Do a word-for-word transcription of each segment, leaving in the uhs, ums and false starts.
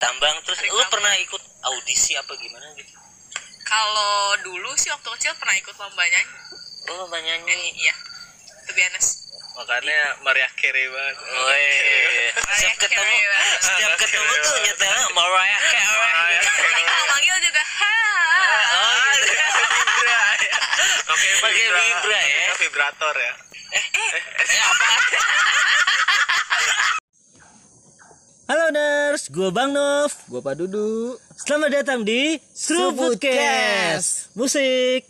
tambang. Terus lu pernah ikut audisi apa gimana gitu? Kalau dulu sih waktu kecil pernah ikut lomba nyanyi. Oh, lomba nyanyi. Nyanyi, iya. To be honest. Makanya Mariah Carey banget. Oh iya. Setiap ketemu, setiap ketemu tuh nyetelnya Mariah Carey. Kalau manggil juga ha. Oh, Vibra ya. Oke, pakai vibra ya. Vibrator ya. Eh, eh, apa? Halo Ners, gue Bang Nov. Gua Pak Dudu. Selamat datang di Seruputcast Musik.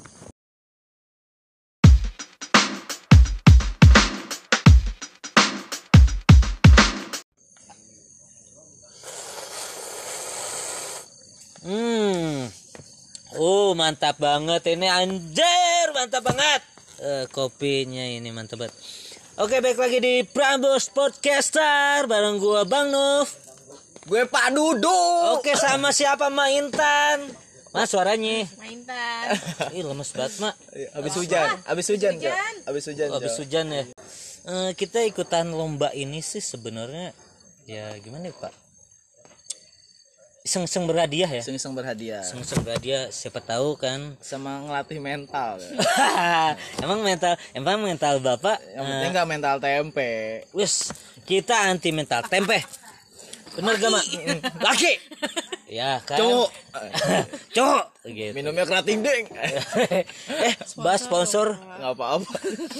Hmm, oh mantap banget ini, anjir mantap banget. Uh, kopinya ini mantap banget. Oke, baik lagi di Prambors Podcaster bareng gua Bang Nov. Gue Pak Dudu. Oke, sama siapa Maintan? Mas suaranya. Maintan. Ih, lemes banget, Mak. Abis hujan, abis hujan, Hujan. Cok. Abis hujan. Oh, habis Cok. hujan ya. Eh, kita ikutan lomba ini sih sebenarnya ya gimana ya, Pak? Iseng-iseng berhadiah ya. Iseng-iseng berhadiah. Iseng-iseng berhadiah, siapa tahu kan. Sama ngelatih mental. Ya. Emang mental, emang mental Bapak Yang penting nggak mental tempe. wis, kita anti mental tempe. Bener gak, Mak? Laki. Ya kan. Cowok. Cowok. Gitu. Minumnya kerating ding. eh, bahas sponsor. Nggak apa-apa.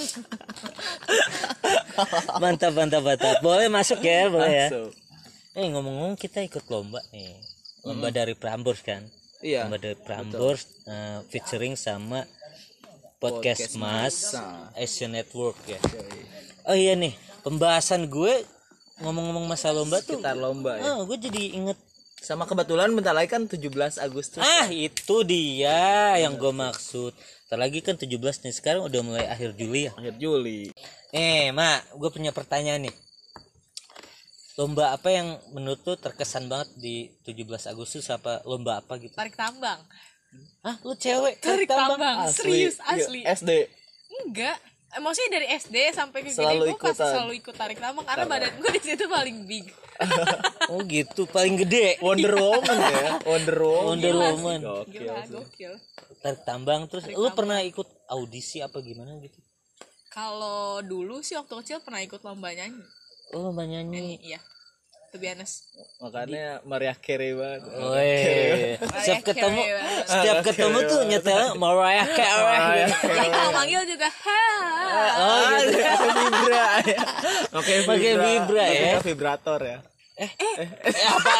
Mantap, mantap, mantap. Boleh masuk ya, boleh ya. Masuk. Eh, ngomong-ngomong kita ikut lomba nih. Lomba dari Prambors kan. Iya. Lomba dari Prambors uh, featuring sama Podcast, Podcast Mas, Mas. Asian Network ya. Oh iya nih, pembahasan gue ngomong-ngomong masa lomba tuh. Sekitar lomba ya. Oh, gue jadi inget. Sama kebetulan bentar lagi kan tujuh belas Agustus. Ah, itu dia yang gue maksud. Ntar lagi kan tujuh belas nih, sekarang udah mulai akhir Juli ya. Akhir Juli. Eh, Mak, gue punya pertanyaan nih. Lomba apa yang menurut tuh terkesan banget di tujuh belas Agustus, apa lomba apa gitu? Tarik tambang. Hah, lu cewek Tarik tambang. Asli. Serius asli. Iya, S D. Enggak. Eh, maksudnya dari S D sampai ke Selalu gede gue pasti ikutan. selalu ikut tarik tambang karena badan gue di situ paling big. Oh gitu, paling gede. Wonder Woman ya. Wonder Woman. Wonder Gila Woman. sih. Gokil Gila, sih. gokil. Tarik tambang. Terus Tarik lu tambang. pernah ikut audisi apa gimana gitu? Kalau dulu sih waktu kecil pernah ikut lomba nyanyi. Oh, lomba Nyanyi, nyanyi. iya. To be honest. Makanya Mariah Carey banget. Oh, iya. Setiap ketemu, Carey. setiap ketemu tuh nyetelnya Mariah Carey. Kalau manggil juga ha. Oh, gitu. Pakai vibra ya. Oke, Pakai vibra ya. Pakai vibrator ya. Eh, apa?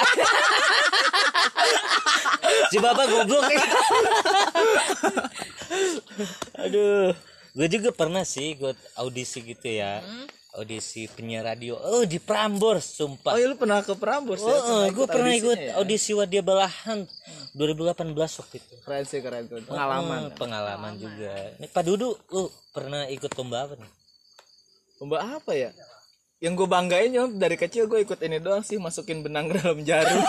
Si Bapak goblok nih. Aduh, gue juga pernah sih ikut audisi gitu ya. Audisi penyiar radio. Oh, di Prambors, sumpah. Oh, iya lu pernah ke Prambors ya? Oh, gue pernah ikut audisinya ya? audisi Wadia Balahan dua ribu delapan belas waktu itu. Keren sih, keren tuh. Pengalaman. Oh, pengalaman juga. Nih Pak Dudu, lu pernah ikut lomba apa nih? Lomba apa ya? Yang gue banggain ya dari kecil gue ikut ini doang sih, masukin benang ke dalam jarum.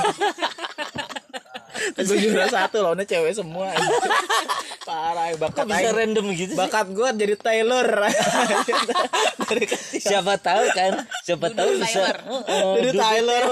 Gue juara satu, lawannya cewek semua. Parah, bakat Kok bisa aing. random gitu sih? Bakat gue jadi Taylor. Dari kecil. Siapa tahu kan? Siapa tahu bisa. Tyler. Oh, oh, Jadi Dudu Tyler.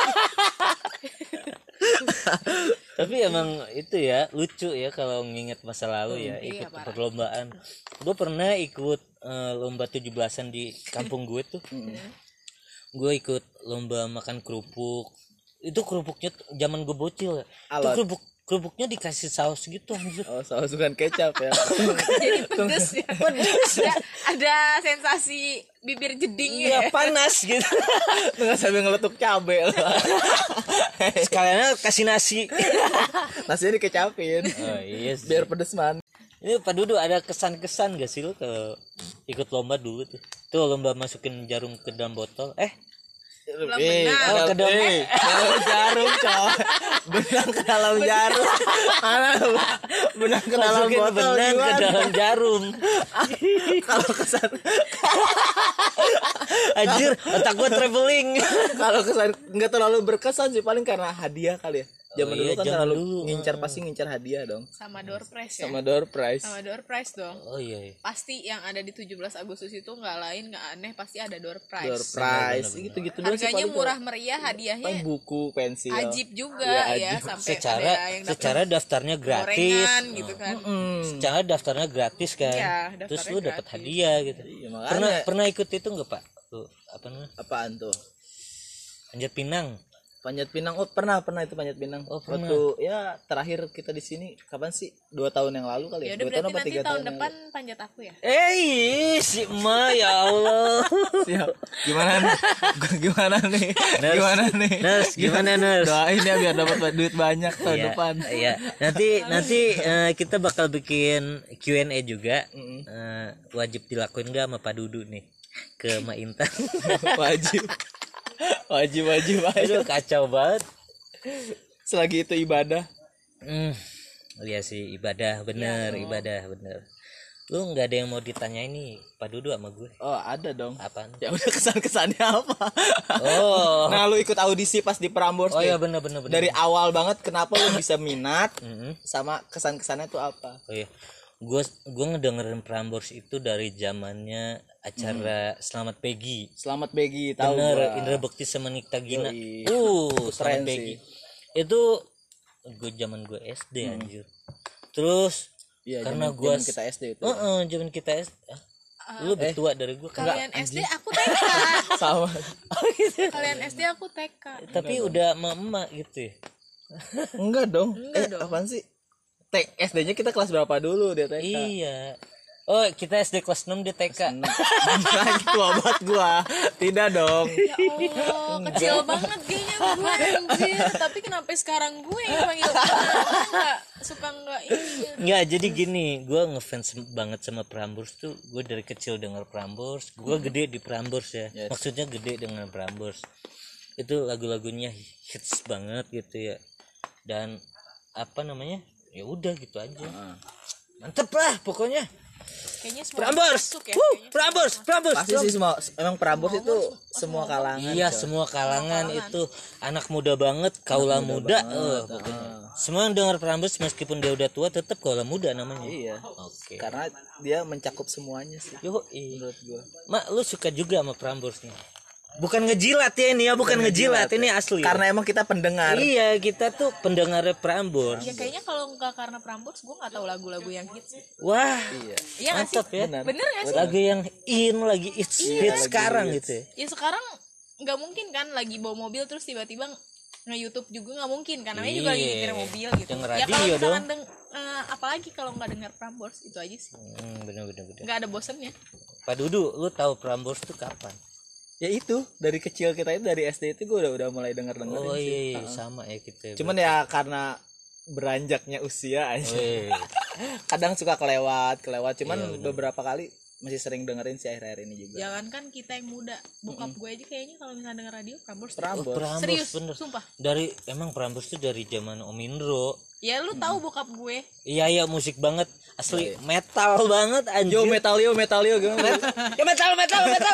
Tapi emang itu ya lucu ya kalau nginget masa lalu ya, iya, ikut parah. perlombaan. Gue pernah ikut eh, lomba tujuh belasan di kampung gue tuh. Gue ikut lomba makan kerupuk. Itu kerupuknya tuh zaman gue bocil ya. Itu Alot. kerupuk kerupuknya dikasih saus gitu anjir. Oh, saus bukan kecap ya. Jadi pedes ya. Ada, ada sensasi bibir jeding Iya, ya. panas gitu. Dengan sambil ngeletuk cabe. Sekalian kasih nasi. Nasinya dikecapin. Oh iya sih. Biar pedes man. Ini Pak Dudu ada kesan-kesan gak sih lu kalau ikut lomba dulu tuh? Tuh lomba masukin jarum ke dalam botol. Eh, Belum Eh, benar. oh, ke dalam eh, dalam jarum, coy. Benang ke dalam jarum. Mana benang ke dalam masukin botol benang ke gimana? dalam jarum. Kalau kesan Anjir, otak gua traveling. kalau kesan nggak terlalu berkesan sih, paling karena hadiah kali ya. Zaman Oh dulu iya, kan zaman selalu dulu. ngincar pasti ngincar hadiah dong. Sama door prize ya. Sama door prize. Sama door prize dong. Oh iya, iya. Pasti yang ada di tujuh belas Agustus itu nggak lain nggak aneh pasti ada door prize. Door prize gitu-gitu doang sih Harganya paling. murah meriah, Paling hadiahnya buku, pensil. ajib juga Iya, ya, ajib. sampai Secara ada yang dapat secara daftarnya gratis. gorengan gitu kan. Hmm. Secara daftarnya gratis kan. Iya, Terus daftarnya lu dapat gratis. hadiah gitu. Iya, makanya. Pernah pernah ikut itu enggak, Pak? Tuh, apa namanya? Apaan tuh? Panjat Pinang. Panjat Pinang. Oh, pernah pernah itu Panjat Pinang. Oh, pernah. Waktu ya terakhir kita di sini kapan sih? Dua tahun yang lalu kali Ya ya? udah Dua tahun berarti apa nanti tiga tahun tahun? yang depan panjat aku ya. Eh, si Ma ya Allah. lalu? Siap. Gimana nih? Gimana nih? Nurse. Gimana nih? Nurse, gimana, Nurse? Doain ya biar dapat duit banyak tahun Iya, depan. Iya. Nanti nanti eh, kita bakal bikin Q and A juga. Eh, wajib dilakuin enggak sama Pak Dudu nih ke Ma Intan. Wajib. Wajib wajib Aduh, aja. kacau banget. Selagi itu ibadah. Hmm. Iya sih, ibadah bener, ibadah bener. Lu nggak ada yang mau ditanya ini Pak Dudu sama gue? Oh, ada dong. Apaan? Ya udah kesan-kesannya apa? Oh. Nah, lu ikut audisi pas di Prambors. Oh nih. iya bener bener bener. Dari awal banget kenapa lu bisa minat Mm-mm. sama kesan-kesannya tuh apa? Oh iya. Gue gue ngedengerin Prambors itu dari zamannya acara Selamat Pegi. Selamat Begi, tahu Bener, gua. Indra Bekti sama Nikta Gina. Yoi. Uh, Keren Selamat Pegi. sih. Itu gue zaman gue S D anjir. Terus Iya, karena zaman- gue zaman kita S D itu. Heeh, zaman kita S D. Ah, lu lebih tua dari gue kan. Kalian S D aku T K. Sama. Kalian S D aku T K. Tapi udah emak-emak gitu ya. Enggak dong. Enggak eh, dong. apaan sih? T S D-nya kita kelas berapa dulu dia T K? Iya. Oh, kita S D kelas enam di T K. Lagi tua banget gua. Tidak dong. Ya Allah, kecil banget kayaknya gue anjir. Tapi kenapa sekarang gue yang panggil Gue nggak suka nggak ini. Nggak, jadi gini, gue ngefans banget sama Prambors tuh. Gue dari kecil denger Prambors, gue gede di Prambors ya. Yes. Maksudnya gede dengan Prambors. Itu lagu-lagunya hits banget gitu ya. Dan apa namanya? Ya udah gitu aja. Mantep lah pokoknya. Kayaknya semua Prambors. masuk ya. Wuh, Kayaknya Prambors, Prambors. Pasti sih semua emang Prambors itu semua kalangan. Iya, coy. semua kalangan itu anak muda banget, kaula muda. Eh, pokoknya. Semua yang dengar Prambors meskipun dia udah tua tetap kaula muda namanya. Iya. Oke. Karena dia mencakup semuanya sih. Yo, Menurut gua. Mak, lu suka juga sama Prambors nih? Bukan ngejilat ya ini ya, bukan ngejilat, ini asli. Karena emang kita pendengar. Iya, kita tuh pendengar Prambors. Ya kayaknya kalau nggak karena Prambors gue nggak tahu lagu-lagu yang hits. Wah, Iya. Iya nggak sih? mantap ya. Benar. Bener nggak sih? Lagu yang in lagi hits hits lagi sekarang hits. gitu ya. Ya sekarang nggak mungkin kan lagi bawa mobil terus tiba-tiba nge-YouTube juga nggak mungkin kan namanya juga lagi Iya. nyetir mobil gitu. Denger Ya kalau radio misalkan dong. deng, eh, apalagi kalau nggak dengar Prambors itu aja sih. Hmm, bener bener bener. Nggak ada bosennya. Pak Dudu, lu tahu Prambors tuh kapan? Ya itu dari kecil kita itu dari S D itu gue udah udah mulai denger dengerin Oh sih. iya, sama ya kita. Cuman ya karena beranjaknya usia aja. Weh. Kadang suka kelewat, kelewat. Cuman Iya, bener. beberapa kali masih sering dengerin sih akhir-akhir ini juga. Jangan kan kita yang muda, bokap gue aja kayaknya kalau misalnya denger radio Prambors. Prambors. Prambors Serius, bener. sumpah. Dari emang Prambors tuh dari zaman Om Indro. Ya lu tahu bokap gue. Iya iya musik banget, asli metal banget anjir. Yo metalio metalio gimana? Ya metal metal metal.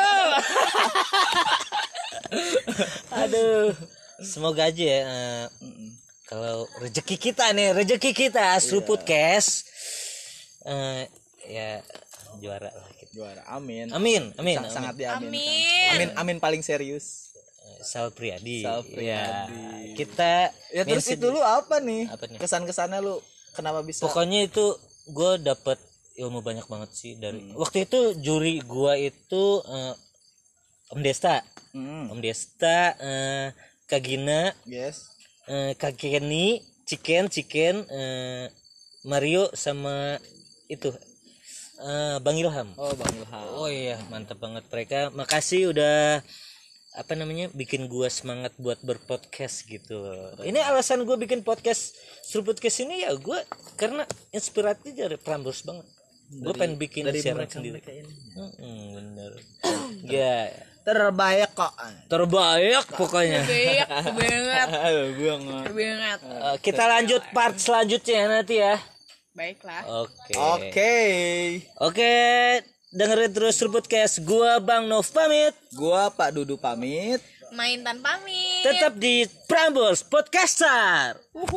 Aduh. Semoga aja ya eh, kalau rezeki kita nih, rezeki kita Astro Podcast eh ya juara lah kita. Juara. Amin. Amin, amin. Sa- Sangat amin. diamin. Amin. Amin amin paling serius. Sal Priadi. Sal Ya, Priadi. kita Ya terus mention- itu lu apa nih? Apa nih? Kesan-kesannya lu kenapa bisa? Pokoknya itu gue dapet ilmu banyak banget sih dari waktu itu juri gue itu eh, Om Desta, Hmm, Om Desta, eh, Kak Gina, yes. eh, Kak Kenny, Chicken, Chicken, eh, Mario sama itu eh, Bang Ilham. Oh Bang Ilham. Oh iya mantap banget mereka. Makasih udah apa namanya bikin gua semangat buat berpodcast gitu. Ini alasan gua bikin podcast Seru Podcast ini ya gua karena inspiratif dari Prambors banget. Gua pengen bikin dari siaran mereka- sendiri. mereka ini. Mm-mm, bener. Ya Terbaik kok. terbaik pokoknya. Banyak banget. Aduh banget. Banget. Eh, kita lanjut part selanjutnya nanti ya. Baiklah. Oke. Oke. Oke, dengerin terus Seru Podcast. Gua Bang Nov pamit. Gua Pak Dudu pamit. Main tanpa pamit. menit. Tetap di Prambors Podcaster.